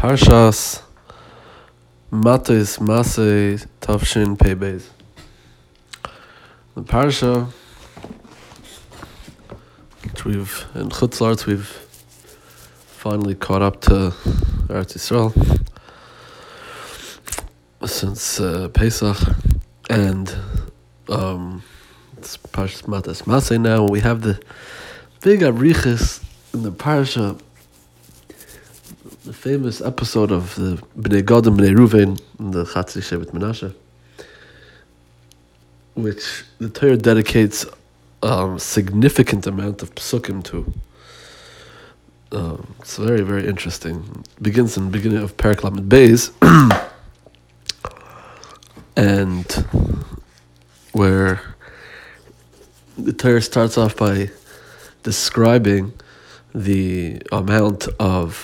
Parshas Matos Masei Tavshin Pei Beis. The parsha, which in Chutz La'aretz we've finally caught up to Eretz Yisrael since Pesach, and it's Parshas Matos Masei now. We have the big arichas in the parsha. The famous episode of the Bnei Gad and Bnei Ruvain in the Chatzi Shevet Menashe, which the Torah dedicates a significant amount of psukim to. It's very, very interesting. It begins in the beginning of Perek Lamed Beis, and where the Torah starts off by describing the amount of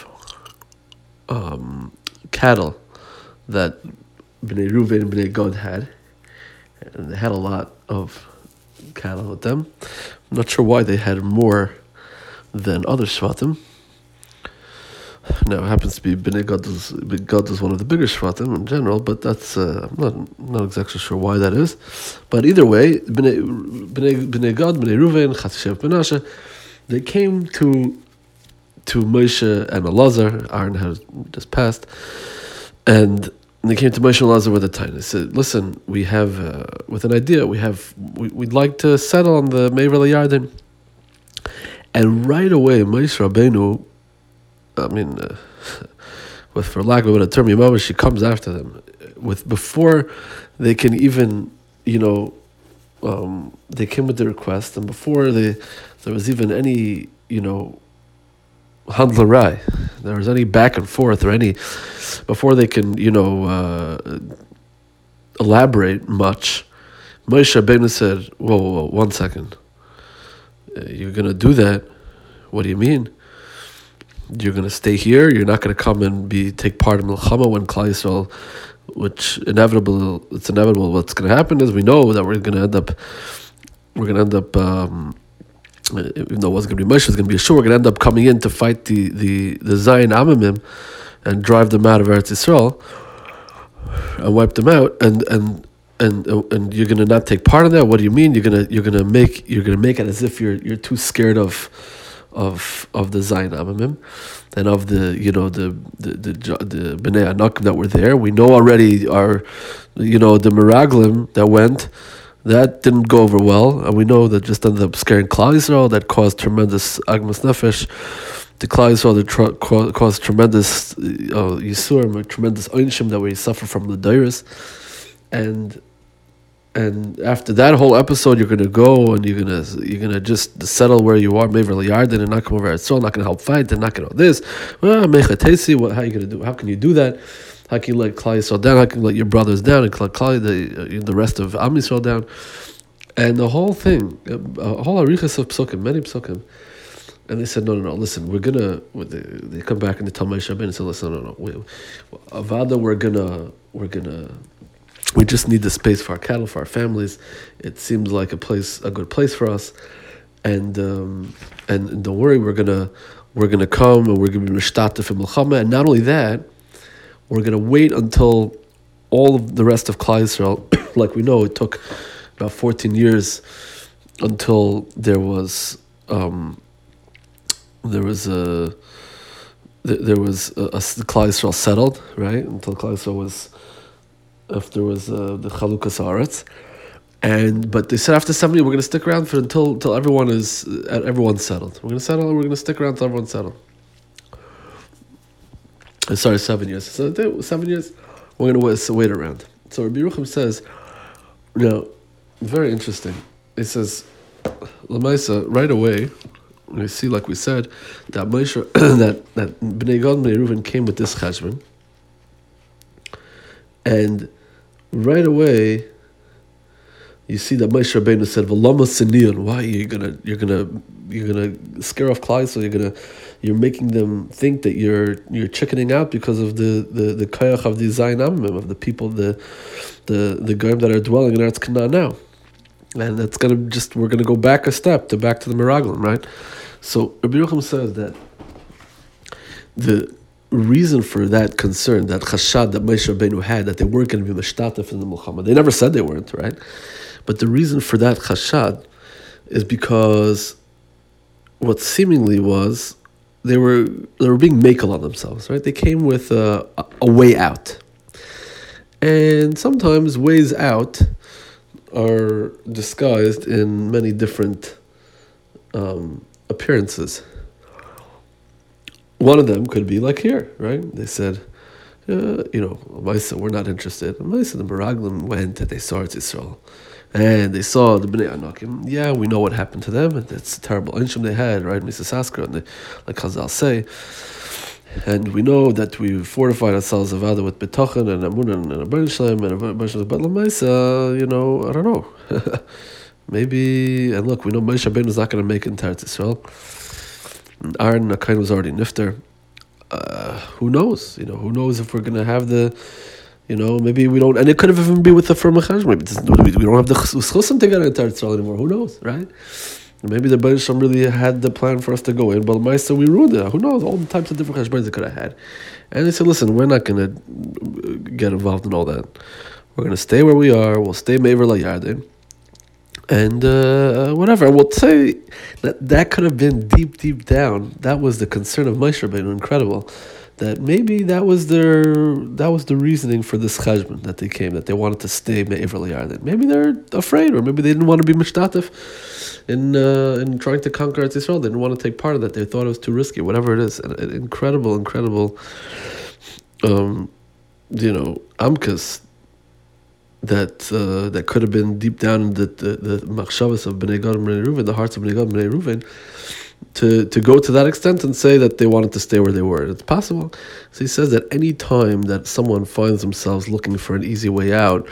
cattle that Bnei Ruvain and Bnei Gad had, and they had a lot of cattle with them. I'm not sure why they had more than other Shvatim. Now it happens to be Bnei Gad is one of the bigger Shvatim in general, but that's I'm not exactly sure why that is. But either way, Bnei Gad, Bnei Ruvain, Chatzi Shevet Menashe, they came to Moshe and Elazar. Aaron had just passed, and they came to Moshe and Elazar with a time. They said, "Listen, we have with an idea. We'd like to settle on the Me'aver LaYarden." And right away, Moshe Rabbeinu, for lack of a better term, Yemama, she comes after them before they can even, they came with the request, and before there was even any, handlerai, there was any back and forth or any, before they can, elaborate much, Moshe Rabbeinu said, whoa, 1 second. You're going to do that? What do you mean? You're going to stay here? You're not going to come and take part in Milchama when Klal Yisrael, which it's inevitable what's going to happen is we know that we're going to end up, even though it wasn't going to be Moshe, it was going to be Yeshua, we're going to end up coming in to fight the Zion Amamim and drive them out of Eretz Yisrael and wipe them out, and you're going to not take part in that. What do you mean? You're going to make it as if you're too scared of the Zion Amamim and of the Bnei Anakim that were there. We know already the Meraglim that went. That didn't go over well, and we know that just ended up scaring Klal Yisrael. That caused tremendous agmas nefesh to Klal Yisrael. That caused tremendous yisurim, tremendous onshim that we suffer from the dairis. And after that whole episode, you're gonna go and you're gonna just settle where you are, Me'aver LaYarden, and not come over Yisrael. Not gonna help fight. They're not gonna do this. Well, Mechatesi, how are you gonna do? How can you do that? How can you let Klal Yisrael down? How can you let your brothers down and the rest of Am Yisrael down? And the whole thing, a whole arichas of psukim, many psukim. And they said, no, listen, they come back and they tell Moshe Rabbeinu and say, listen, no, Avada, we just need the space for our cattle, for our families. It seems like a good place for us. And don't worry, we're gonna come and we're gonna be mishtatef in Milchama. And not only that, we're going to wait until all of the rest of Klal Yisrael, like we know, it took about 14 years until the Klal Yisrael settled, right? Until Klal Yisrael was, after was the Chalukas Haaretz, but they said after 70 we're going to stick around until everyone's settled. We're going to settle and we're going to stick around until everyone's settled. 7 years. So 7 years, we're going to wait around. So Rabbi Yerucham says, very interesting. He says, Lamaisa, right away, we see, like we said, that Moshe, that Bnei Gad and Bnei Ruvain came with this cheshbon, and right away, you see that Moshe Rabbeinu said, "V'lama sinion." Why you're gonna scare off Klal, so you're making them think that you're chickening out because of the koyach of the Zion Amamim, of the people, the goyim that are dwelling in Eretz Canaan now, and that's we're gonna go back a step back to the Meraglim, right? So Rabbi Yerucham says that reason for that concern, that chashad that Moshe Rabbeinu had, that they weren't going to be mishtatef in the Milchama. They never said they weren't, right? But the reason for that chashad is because what seemingly was they were being makel on themselves, right? They came with a way out, and sometimes ways out are disguised in many different appearances. One of them could be like here, right? They said, Maisa, we're not interested. Maisa, the Meraglim went and they saw Eretz Yisrael. And they saw the Bnei Anakim. Yeah, we know what happened to them. And it's a terrible inshim they had, right? Mrs. Saskar, and like Chazal say. And we know that we fortified ourselves of other with Betochen and Amun and Abban Shalem and Abban Shalem. But Lamaisa, I don't know. Maybe, and look, we know Moshe Rabbeinu is not going to make it into Eretz Yisrael. Aaron Akain was already nifter. Who knows? Who knows if we're going to have the, maybe we don't, and it could have even be with the firm Chaj. Maybe we don't have the Chusim to get into Eretz Yisrael anymore. Who knows, right? Maybe the Baruch Shem really had the plan for us to go in, but Maisa, we ruined it. Who knows? All the types of different Cheshbonos they could have had. And they said, listen, we're not going to get involved in all that. We're going to stay where we are. We'll stay Me'aver LaYarden. And whatever. We'll say that could have been deep down. That was the concern of Moshe Rabbeinu. Incredible. That maybe that was the reasoning for this cheshbon that they came, that they wanted to stay Me'aver LaYarden. Maybe they're afraid, or maybe they didn't want to be mishtatef in trying to conquer Eretz Yisrael. They didn't want to take part of that. They thought it was too risky. Whatever it is, an incredible, amkas that could have been deep down in the machshavas of Bnei Gad and Bnei Reuven, the hearts of Bnei Gad and Bnei Reuven, to go to that extent and say that they wanted to stay where they were. It's possible. So he says that any time that someone finds themselves looking for an easy way out,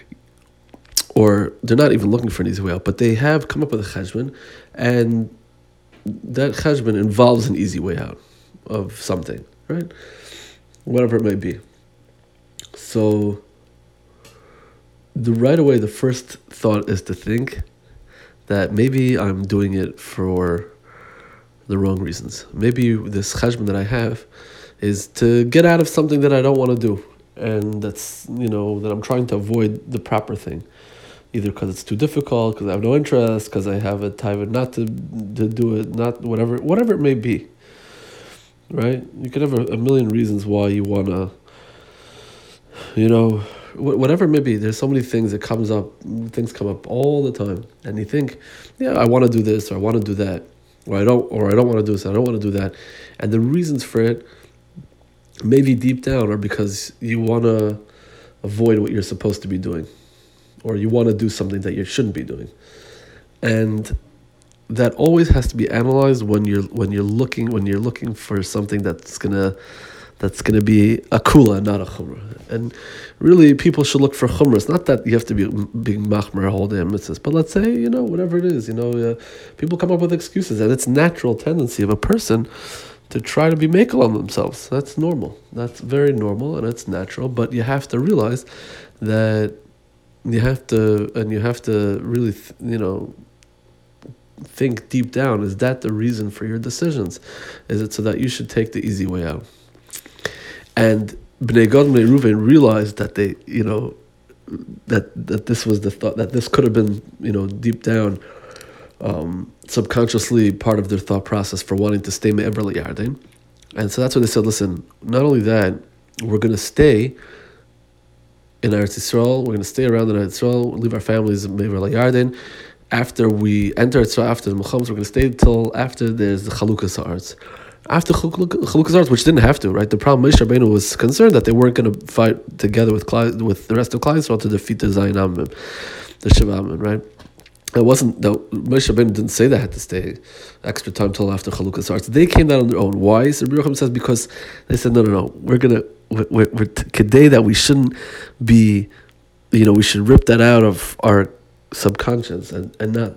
or they're not even looking for an easy way out, but they have come up with a cheshbon, and that cheshbon involves an easy way out of something, right? Whatever it may be. So right away, the first thought is to think that maybe I'm doing it for the wrong reasons. Maybe this cheshbon that I have is to get out of something that I don't want to do, and that's that I'm trying to avoid the proper thing, either because it's too difficult, because I have no interest, because I have a taiva not to do it, not whatever it may be. Right? You could have a million reasons why you want to, whatever it may be. There's so many things that things come up all the time, and you think, I want to do this, or I want to do that, or I don't want to do this, I don't want to do that, and the reasons for it, maybe deep down, are because you want to avoid what you're supposed to be doing, or you want to do something that you shouldn't be doing, and that always has to be analyzed when you're looking for something that's gonna be a kula, not a chumrah. And really, people should look for chumras. Not that you have to be being machmer whole damn mitzvahs, but let's say whatever it is. People come up with excuses, and it's natural tendency of a person to try to be makel on themselves. That's normal. That's very normal, and it's natural. But you have to realize that you have to really think deep down, is that the reason for your decisions? Is it so that you should take the easy way out? And Bnei Gad and Bnei Reuven realized that they, that this was the thought, that this could have been, deep down, subconsciously part of their thought process for wanting to stay Me'aver LaYarden. And so that's what they said, listen, not only that, we're going to stay in Eretz Yisrael, we're going to stay around in Eretz Yisrael, leave our families in Me'aver LaYarden. After we enter Yisrael, after the Melchamos, we're going to stay till after there's the Chalukas Ha'aretz. After Chalukas Ha'aretz, which didn't have to, right? The problem, Moshe Rabbeinu was concerned that they weren't going to fight together with the rest of Klal Yisrael to defeat the Zayin Amim, the Sheva Amim, right? It wasn't that Moshe Rabbeinu didn't say they had to stay extra time till after Chalukas Ha'aretz. They came down on their own. Why? So Rabbi Yochanan says because they said no. We're today that we shouldn't be, we should rip that out of our subconscious and not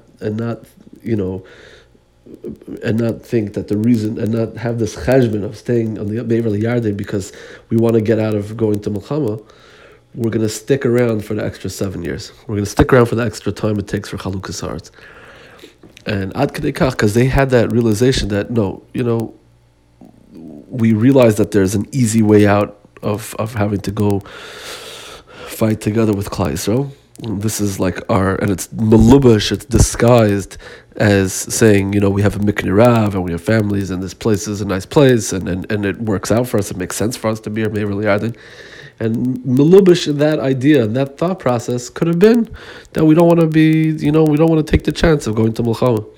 think that the reason, and not have this cheshbon of staying on the Me'aver LaYarden because we want to get out of going to Milchama. We're going to stick around for the extra 7 years. We're going to stick around for the extra time it takes for Chalukas Ha'aretz. And Ad Kedei Kach, because they had that realization that no, we realize that there's an easy way out of having to go fight together with Klal Yisrael. This is like and it's melubash, it's disguised as saying, we have a Miknei Rav and we have families and this place is a nice place and it works out for us, it makes sense for us to be here, Me'er Yarden. And melubash in that idea and that thought process could have been that we don't want to be, we don't want to take the chance of going to Milchama.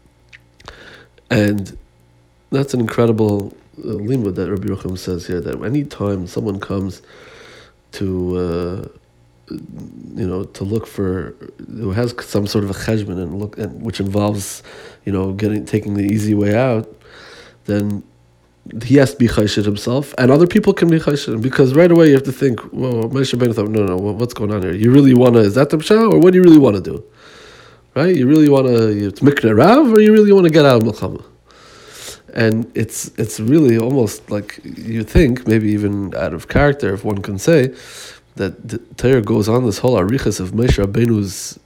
And that's an incredible limud that Rabbi Yerucham says here, that any time someone comes to look for, who has some sort of a cheshbon and which involves, taking the easy way out, then he has to be chayshid himself, and other people can be chayshid, because right away you have to think, well, Moshe Rabbeinu thought, no, what's going on here? You really want to, is that the pshat, or what do you really want to do? Right? You really want to, it's Miknei Rav, or you really want to get out of Milchama? And it's really almost like, you think, maybe even out of character, if one can say, that the Torah goes on this whole arichas of Moshe Rabbeinu's,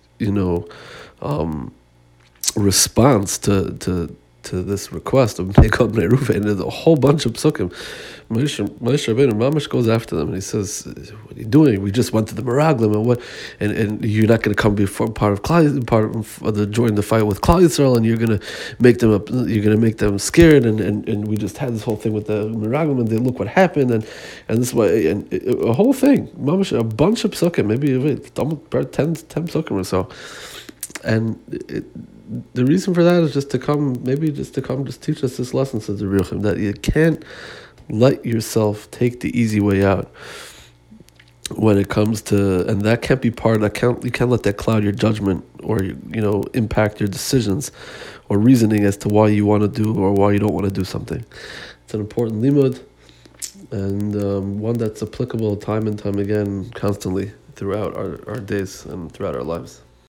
response to this request of Bnei Gad Bnei Reuven, and there's a whole bunch of psukim. Moshe Rabbeinu Mamash goes after them and he says, "What are you doing? We just went to the Meraglim, and you're not going to come before part of join the fight with Klal Yisrael, and you're going to make them scared, and we just had this whole thing with the Meraglim, and they look what happened, and this way, and a whole thing, Mamash, a bunch of psukim, maybe about 10 psukim or so, and the reason for that is just to teach us this lesson, says the Rebbe Yerucham, that you can't let yourself take the easy way out when it comes to, and that can't be you can't let that cloud your judgment or impact your decisions or reasoning as to why you want to do or why you don't want to do something. It's an important limud, and one that's applicable time and time again, constantly throughout our days and throughout our lives.